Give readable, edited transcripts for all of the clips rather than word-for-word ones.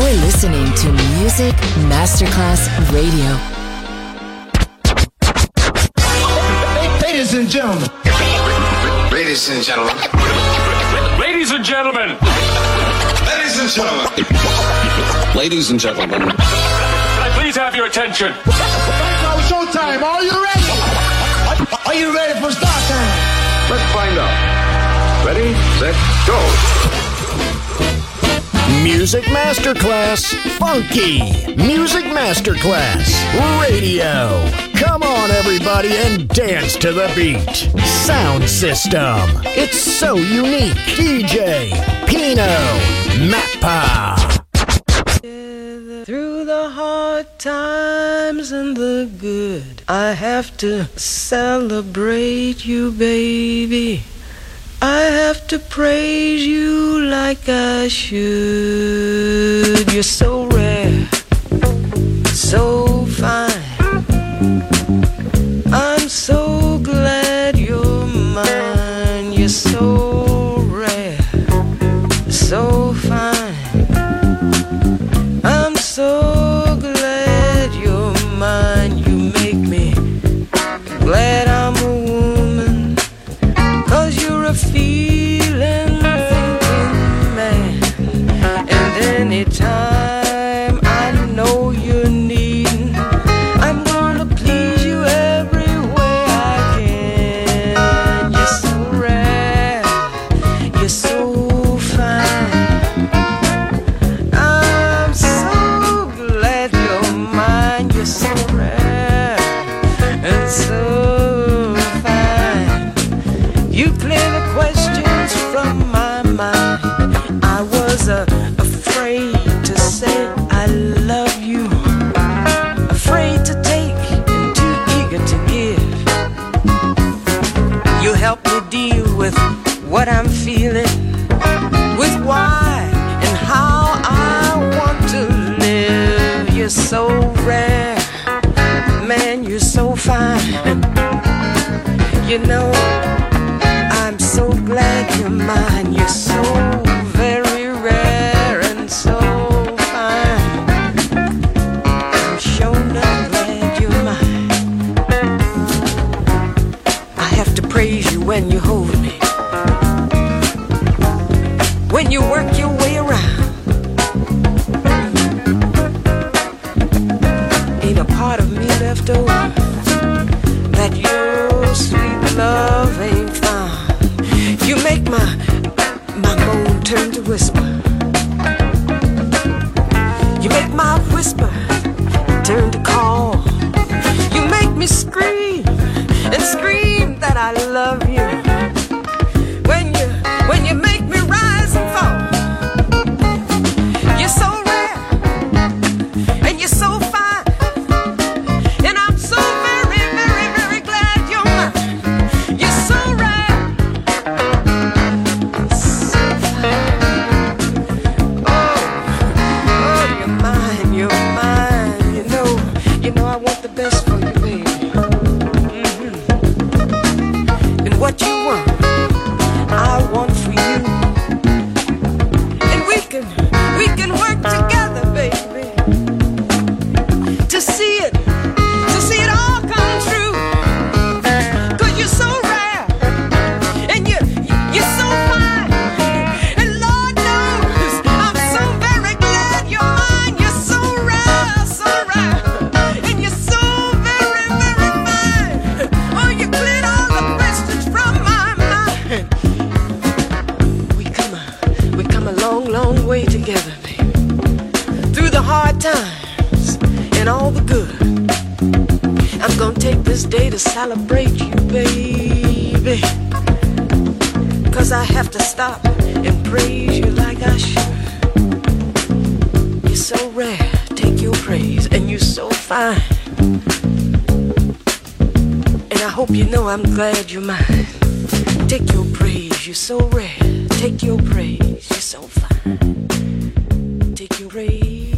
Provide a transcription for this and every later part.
You're listening to Music Masterclass Radio. Ladies and gentlemen. Ladies and gentlemen. Ladies and gentlemen. Ladies and gentlemen. Ladies and gentlemen. Can I please have your attention? Now showtime. Are you ready? Are you ready for start time? Let's find out. Ready, set, go. Music Masterclass Funky. Music Masterclass Radio. Come on, everybody, and dance to the beat. Sound system. It's so unique. DJ Pino Mappa. Through the hard times and the good, I have to celebrate you, baby. I have to praise you like I should. You're so rare, so fine. I'm so glad you're mine. You're so rare, so fine. I'm so glad you're mine. You make me glad I'm a woman, 'cause you're a feeling, thinking man. And anytime I know you're needing, I'm gonna please you every way I can. You're so rare, you're so fine. I'm so glad you're mine. You're so rare and so fine. You clear the questions from my mind. I was afraid to say I love you, afraid to take and too eager to give. You help me deal with what I'm feeling, with why and how I want to live. You're so rare, man, you're so fine. You know, I'm so glad you're mine. You're so very rare and so fine. I'm sure not glad you're mine. I have to praise you when you hold me, when you work your way around. Ain't a part of me left over that your sweet love ain't found. You make my moan turn to whisper. You make my whisper turn to call. You make me scream and scream that I love you. When you make me rise and fall. You're so rare and you're so fine. And I'm so very, very, very glad you're mine. You're so rare, so fine. Oh, you're mine, you're mine. You know I want the best for you, baby. And what you want, I want for you. And we can work together, baby, to see it all come true. 'Cause you're so rare and you're so fine. And Lord knows I'm so very glad you're mine. You're so rare, and you're so very, very fine. Oh, you cleared all the questions from my mind. We come a long, long way together, baby. Through the hard times and all the good. I'm gonna take this day to celebrate you, baby. 'Cause I have to stop and praise you like I should. You're so rare, take your praise, and you're so fine. And I hope you know I'm glad you're mine. Take your praise, you're so rare. Take your praise, you're so fine. Take your praise.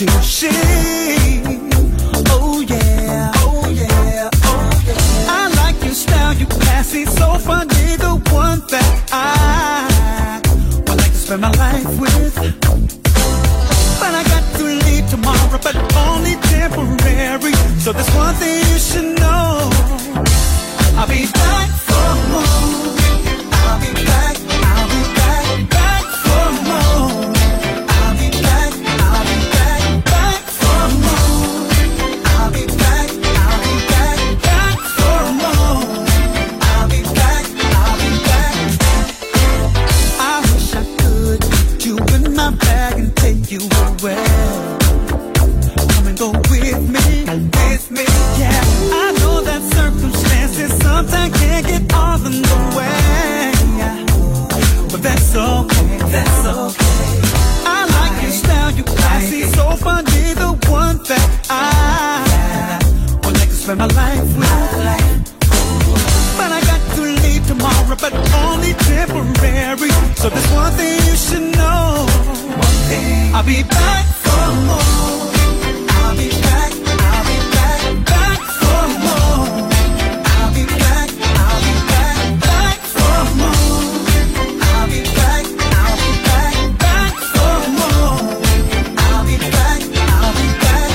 to shame. Oh yeah, oh yeah, oh yeah. I like your style, you classy, so funny, the one that I would like to spend my life with. But I got to leave tomorrow, but only temporary. So there's one thing you should know. I'll be back for more. I'll be back, I'll be back, back for more. I'll be back, I'll be back, back for more. I'll be back, I'll be back, back for more. I'll be back, I'll be back. I wish I could put you in my bag and take you away. Come and go with me, yeah. I know that circumstances sometimes can't get all in the way, but that's okay, that's okay. I like your style, you classy, so funny, the one that I would like to spend my life with. But I got to leave tomorrow, but only temporary. So there's one thing you should know. I'll be back for more. I'll be back, I'll be back, back for more. I'll be back, I'll be back, back for more. I'll be back, I'll be back, back for more. I'll be back, I'll be back.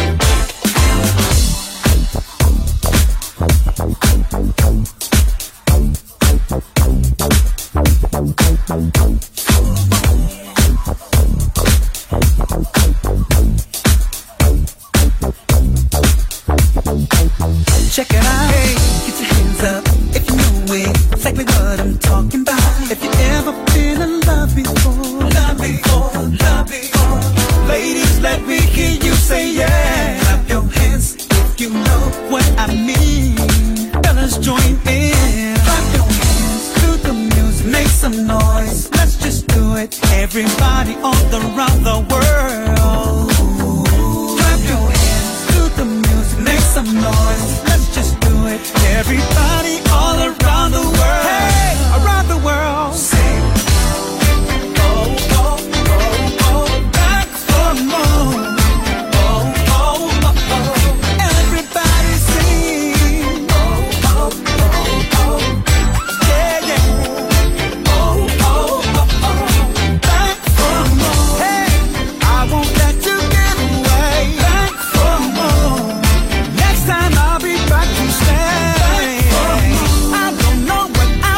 Check it out, hey, get your hands up if you know it, exactly what I'm talking about. If you ever been in love before, love before, love before. Ladies, let me hear you say yeah. Clap your hands if you know what I mean. Fellas, join in. Clap your hands to the music, make some noise. Let's just do it, everybody all around the world. Clap your hands to the music, make some noise. Let's just do it, everybody all around the world. Hey, around the world. Sing. Oh, oh, oh, oh, back for more. Oh, oh, oh, oh. Everybody sing. Oh, oh, oh, oh. Yeah, yeah. Oh, oh, oh, oh. Back for more. Hey, I won't let you get away. Back for more. Next time I'll be back to stay. I don't know what I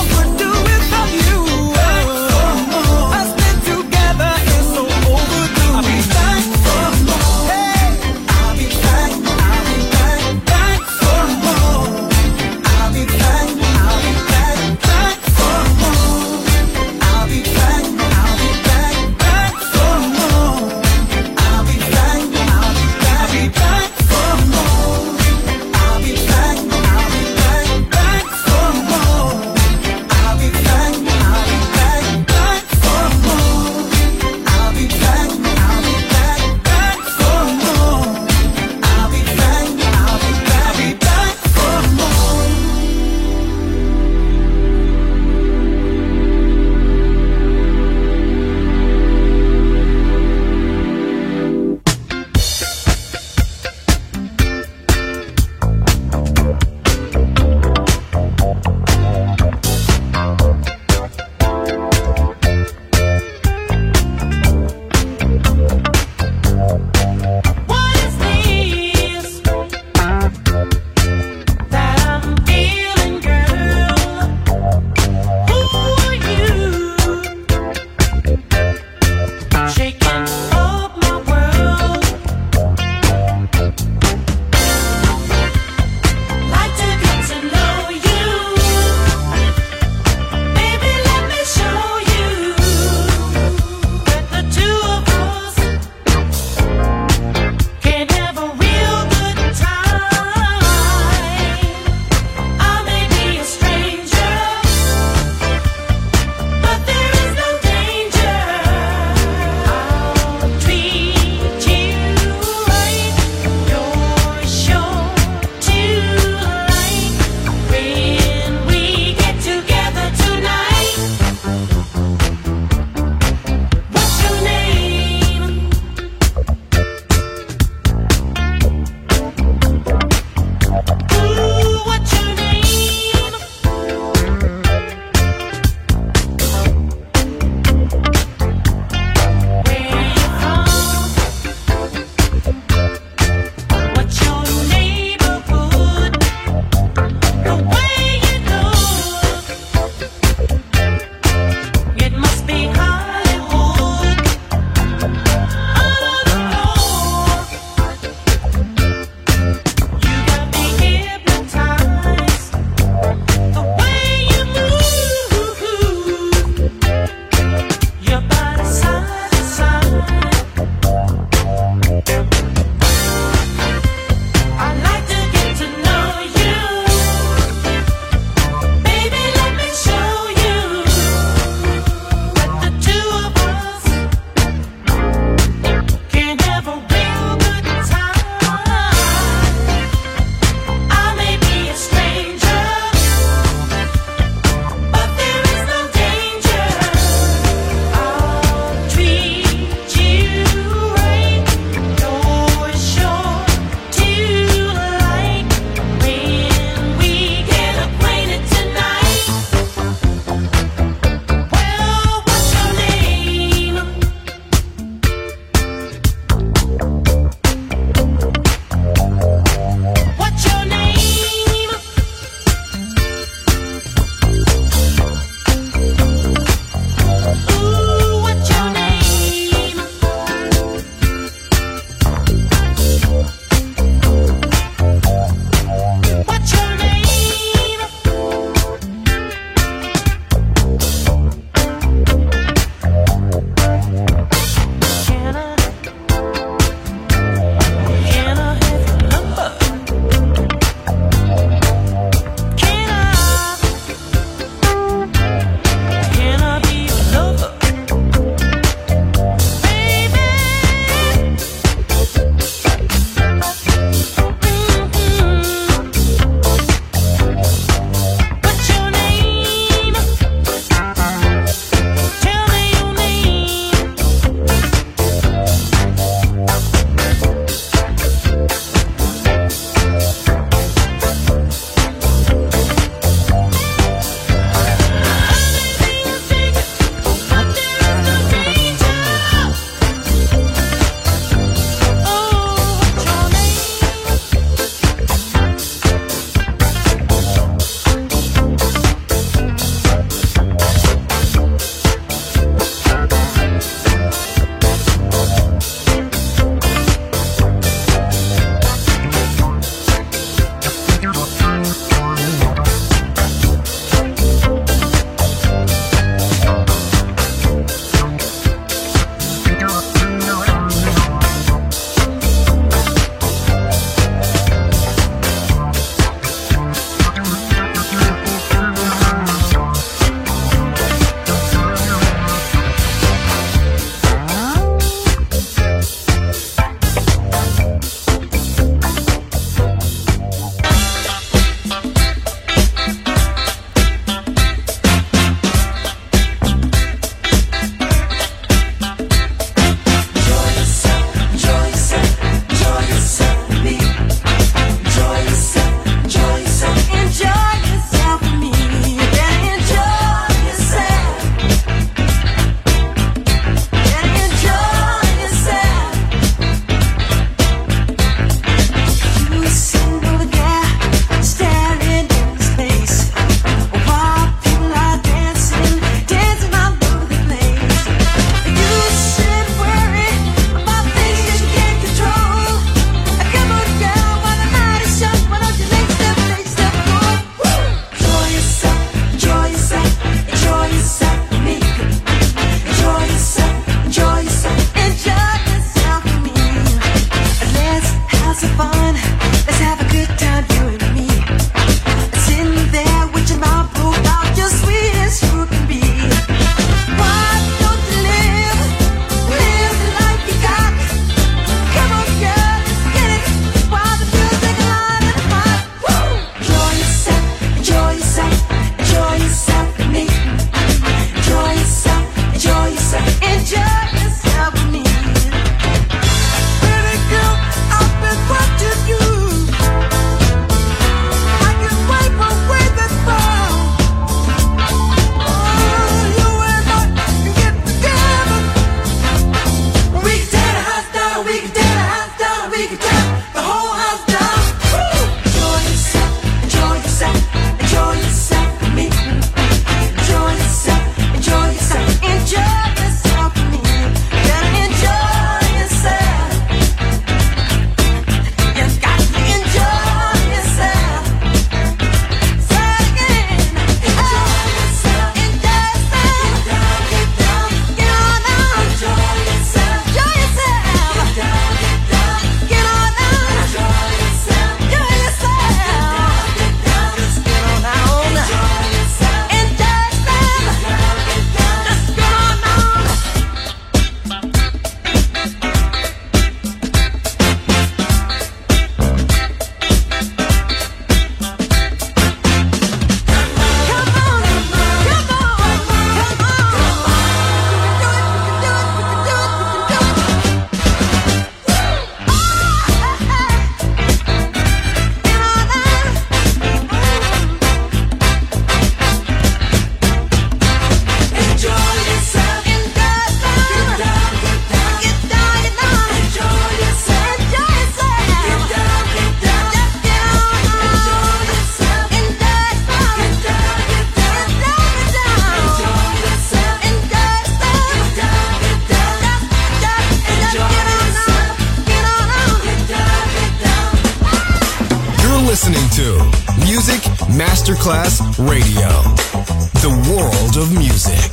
Masterclass Radio. The world of music.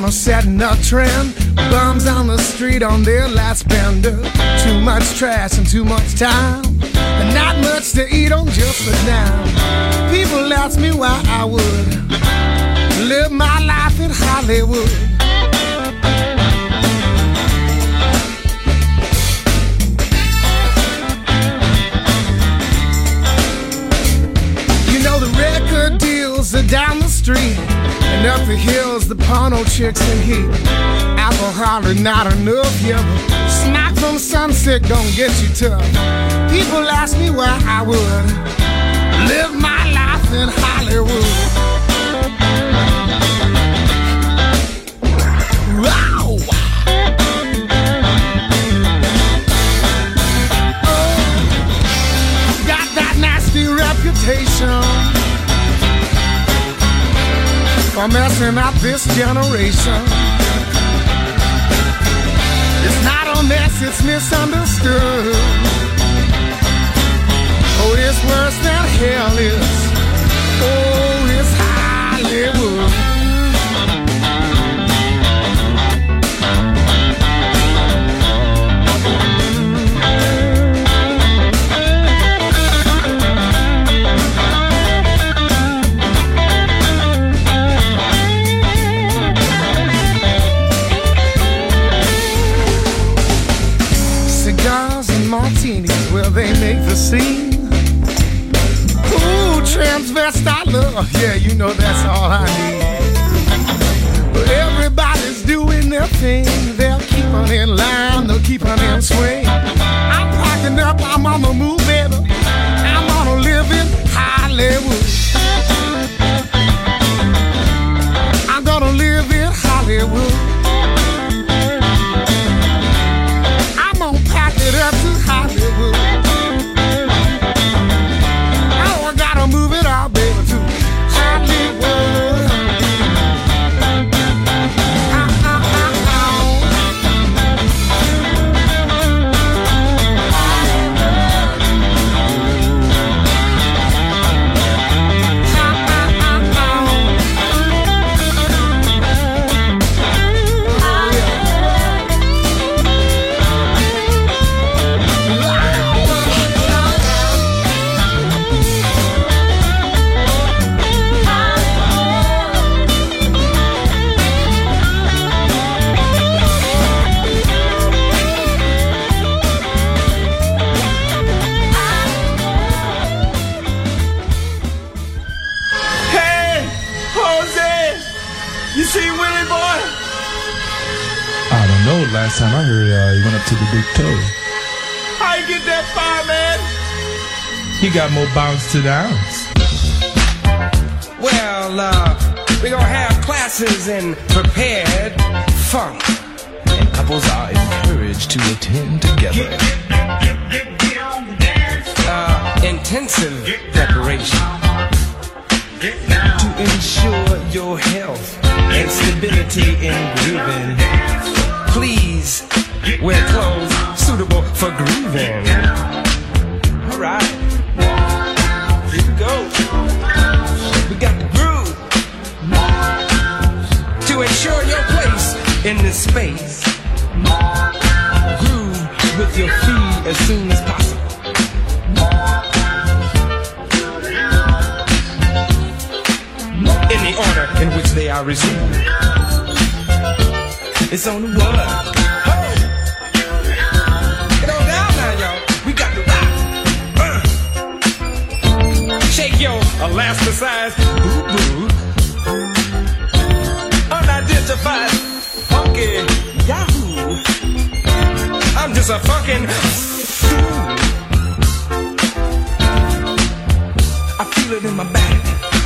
a setting a trend. Bums on the street on their last bender. Too much trash and too much time, and not much to eat on just a dime. People ask me why I would live my life in Hollywood. You know the record deals are down the street, and up the hills the porno chicks in heat. Alcohol is not enough, yeah, but smack from Sunset don't get you tough. People ask me why I would live my life in Hollywood. Wow! Oh, got that nasty reputation for messing up this generation. It's not a mess, it's misunderstood. Oh, it's worse than hell is. Oh, it's Hollywood. Martinis, well, they make the scene. Ooh, transvestite love, yeah, you know that's all I need. But everybody's doing their thing. They'll keep on in line, they'll keep on in swing. I'm packing up, I'm on the move, baby. I'm gonna live in Hollywood. I'm gonna live in Hollywood. Up to Hollywood. Oh, I gotta move it all, baby, to Hollywood. Last time I heard, he went up to the Big Toe. How you get that far, man? He got more bounce to the ounce. Well, we're gonna have classes in prepared funk, and couples are encouraged to attend together. Intensive preparation to ensure your health and stability in grooving. Please wear clothes suitable for grooving. All right, here we go. We got the groove to ensure your place in this space. Groove with your feet as soon as possible. In the order in which they are received. It's on the one. Get on down now, y'all. We got the rock. Shake your elasticized boo-boo. Unidentified funky yahoo. I'm just a fucking fool. I feel it in my back.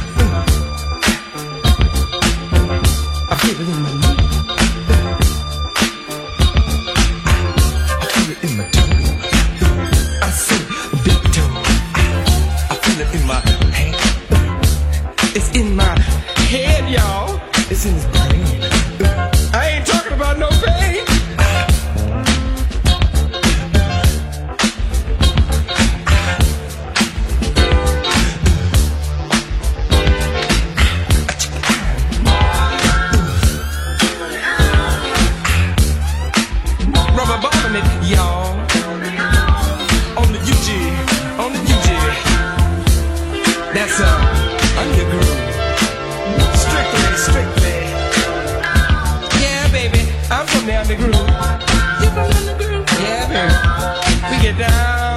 I feel it in my knee. In my toe, I see a big toe. I feel it in my hand. It's in my head, y'all. It's in his brain. I ain't talking about no pain. on it, y'all. On the UG, on the UG. That's underground. Strictly. Yeah, baby, I'm from the underground. You from the underground? Yeah, baby. We get down.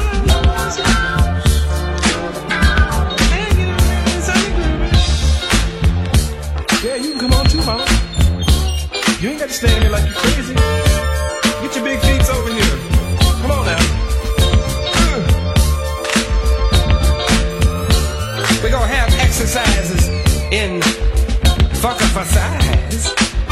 Yeah, you can come on too, mama. You ain't got to stand here like you're crazy. Get your big feet over here. Come on now. We're gonna have exercises in Fuck-a-for-size.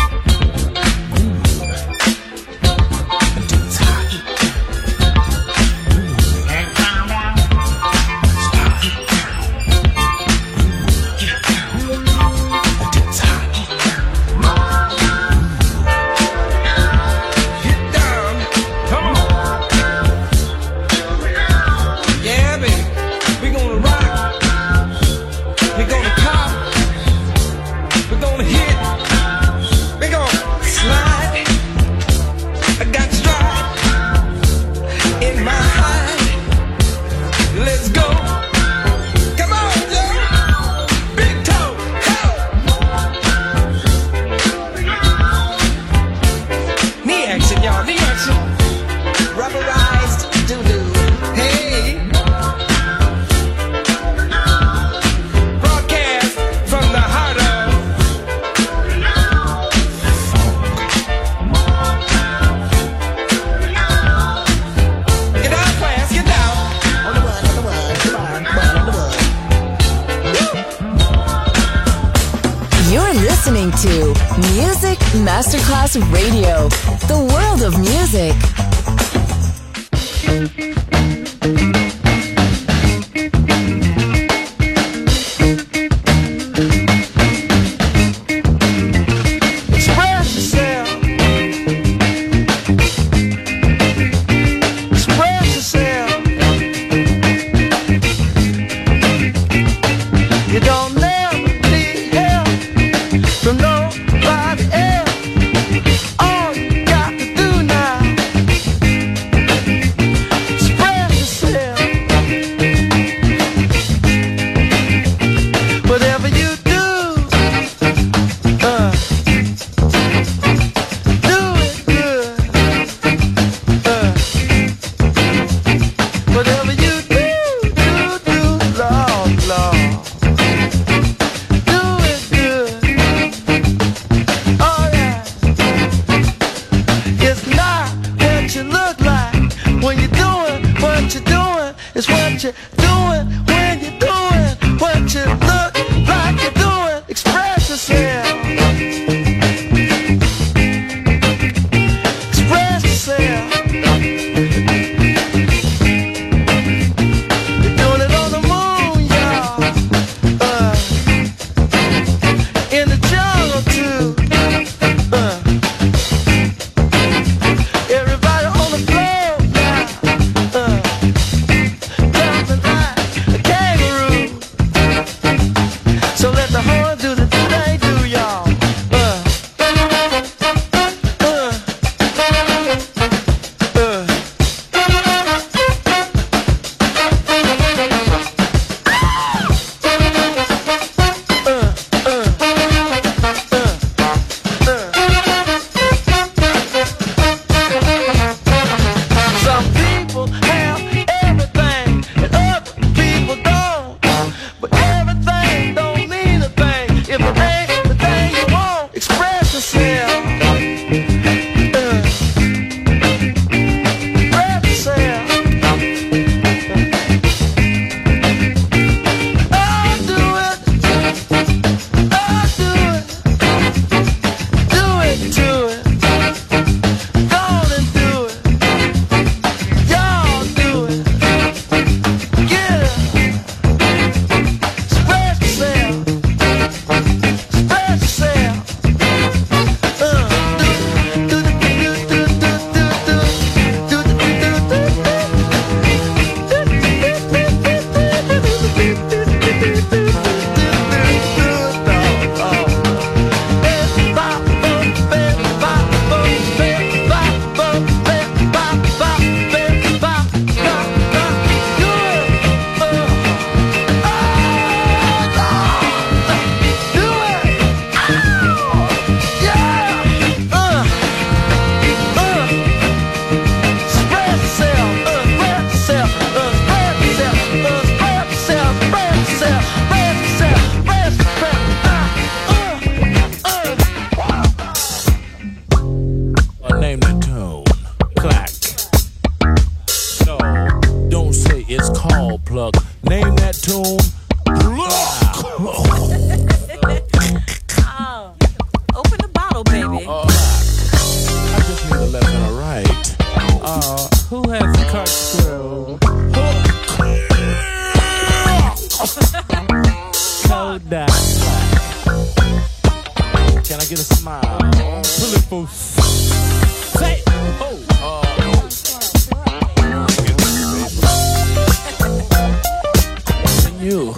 To Music Masterclass Radio, the world of music. Everybody on the floor now. plug. Name that tune. Oh, open the bottle, baby. I just need a left and a right. Who has the corkscrew? Kodak. Can I get a smile? Pull it for say. You.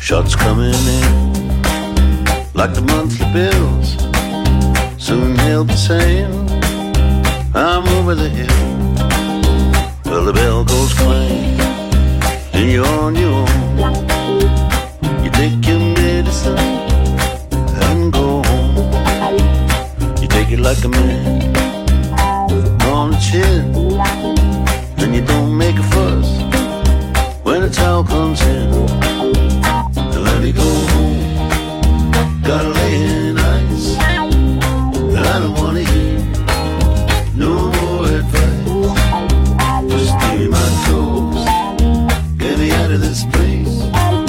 Shots coming in like the monthly bills. Soon he'll be saying, I'm over the hill. Well, the bell goes clang and you're on your own. You take your medicine and go home. You take it like a man on the chin, and you don't make a fuss when the towel comes in. And let me go home. Gotta lay in ice, and I don't wanna hear no more advice. Just give me my toes, get me out of this place.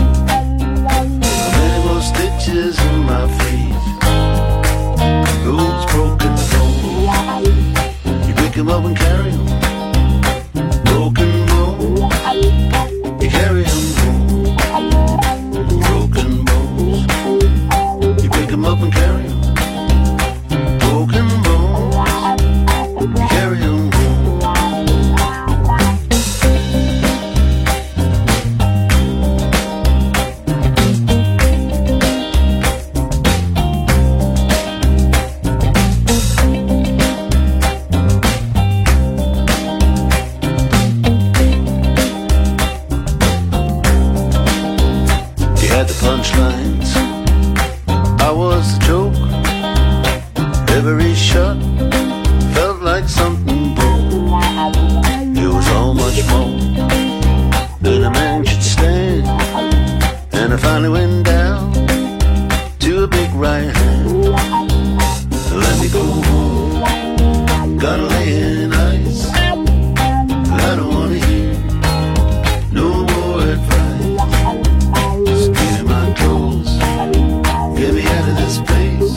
Many more stitches in my feet, those broken bones. You pick 'em up and carry 'em. Broken bones, you carry 'em home. Broken bones, you pick 'em up and carry 'em. Broken bones, you carry 'em home. The punchlines, I was the joke. Every shot felt like something broke. It was all much more than a man should stand. And I finally went down to a big right hand. Let me go home, gotta lay in ice. I don't wanna hear no more advice. Get me out of this place.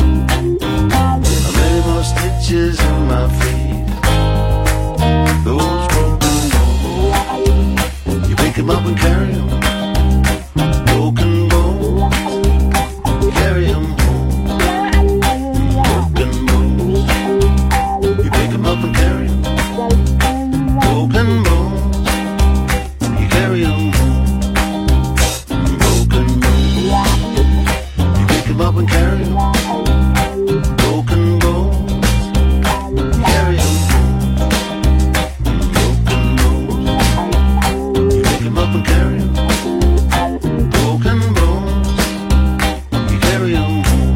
Many more stitches in my feet, those broken bones. You pick 'em up and carry 'em. Broken bones, you carry 'em home. Broken bones, you pick 'em up and carry 'em. Broken bones, you carry 'em home. Broken bones, up and carry 'em. Broken bones, carry 'em. Broken bones, you pick 'em up and carry 'em. Broken bones, you carry 'em home.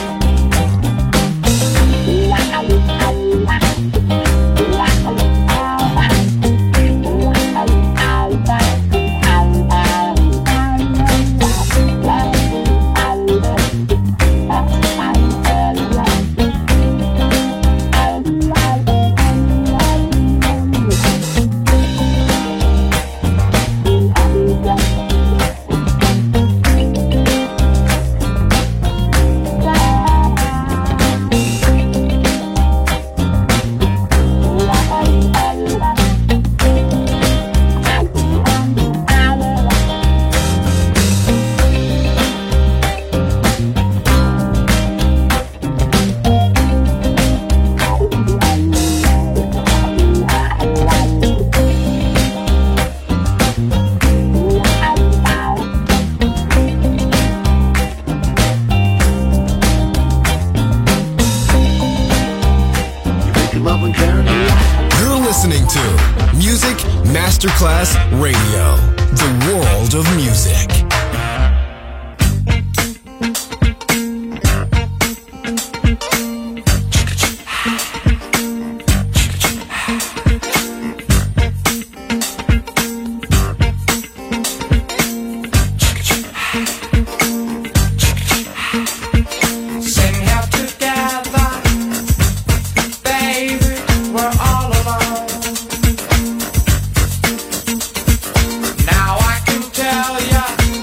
You're listening to Music Masterclass Radio, the world of music. Now I can tell ya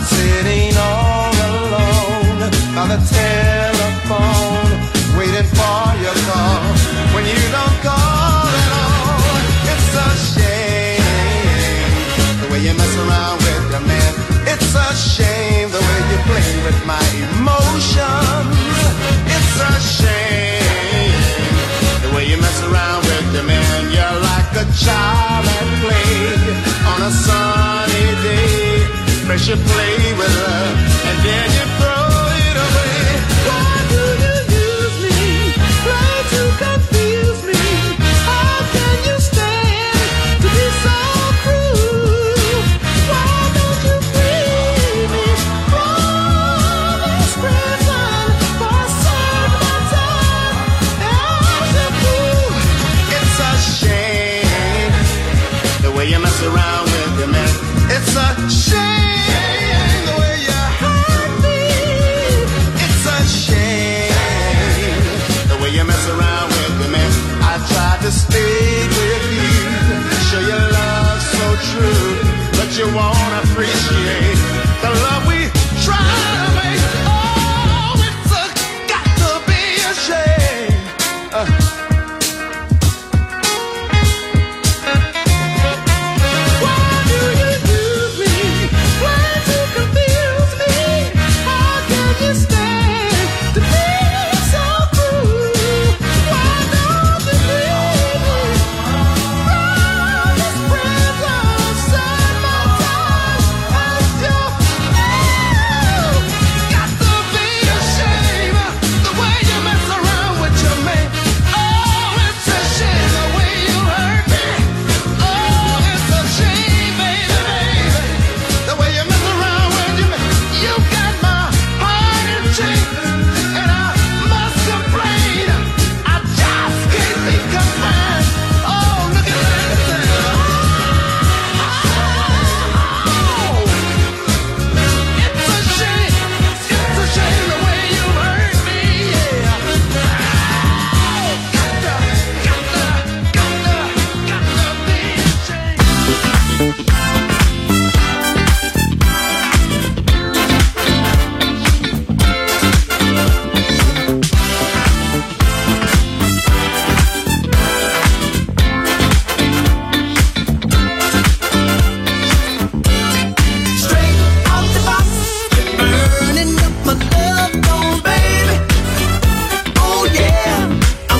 sitting all alone by the telephone, waiting for your call. When you don't call at all, it's a shame the way you mess around with your man. It's a shame the way you play with my emotions. It's a shame the way you mess around with your man. You're like a child at play on a sunny day. First you play with her and then you throw it away. Why do you use me? Try to confuse me. How can you stand to be so cruel? Why don't you free me from this prison for a certain time? As a fool, it's a shame the way you mess around with your man. It's a shame. To stay with you, show your love so true, but you won't appreciate the love we try to make. Oh, it's got to be a shame. Why do you use me? Try to confuse me. How can you stand to be so cruel? Why don't you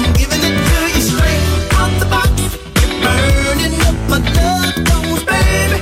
baby.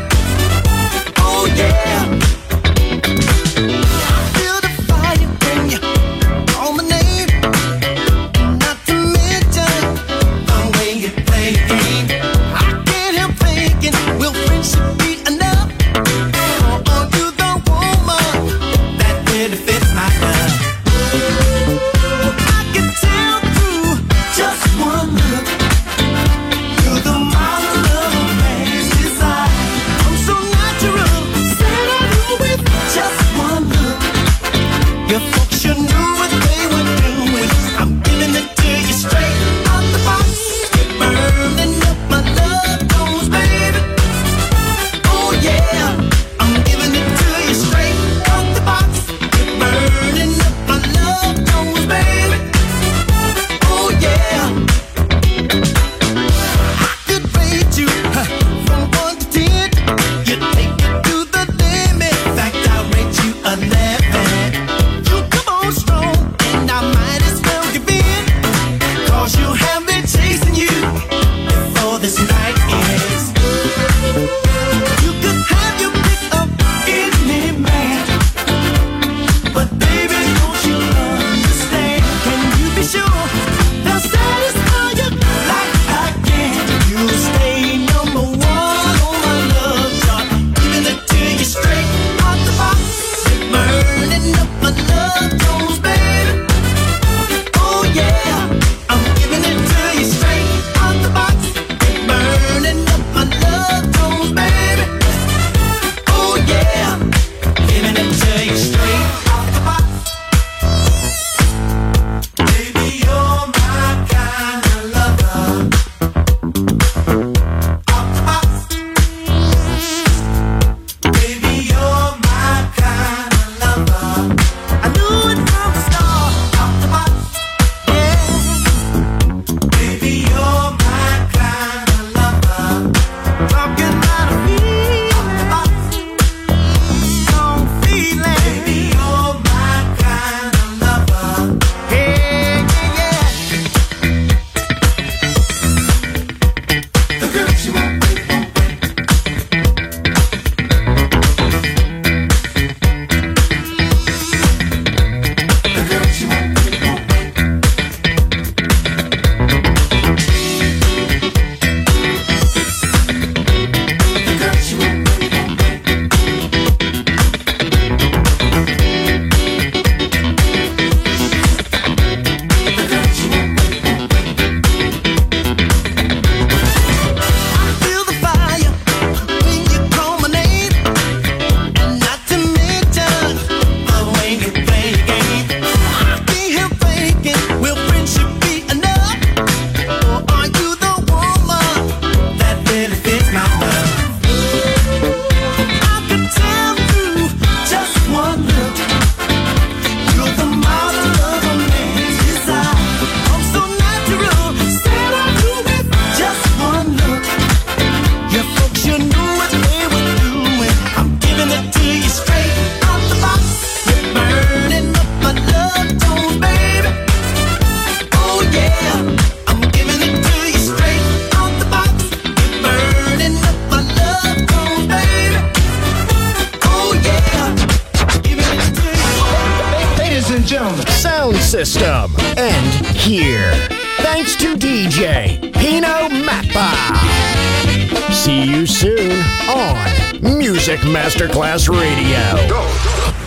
system. And here, thanks to DJ Pino Mappa. See you soon on Music Masterclass Radio. Go.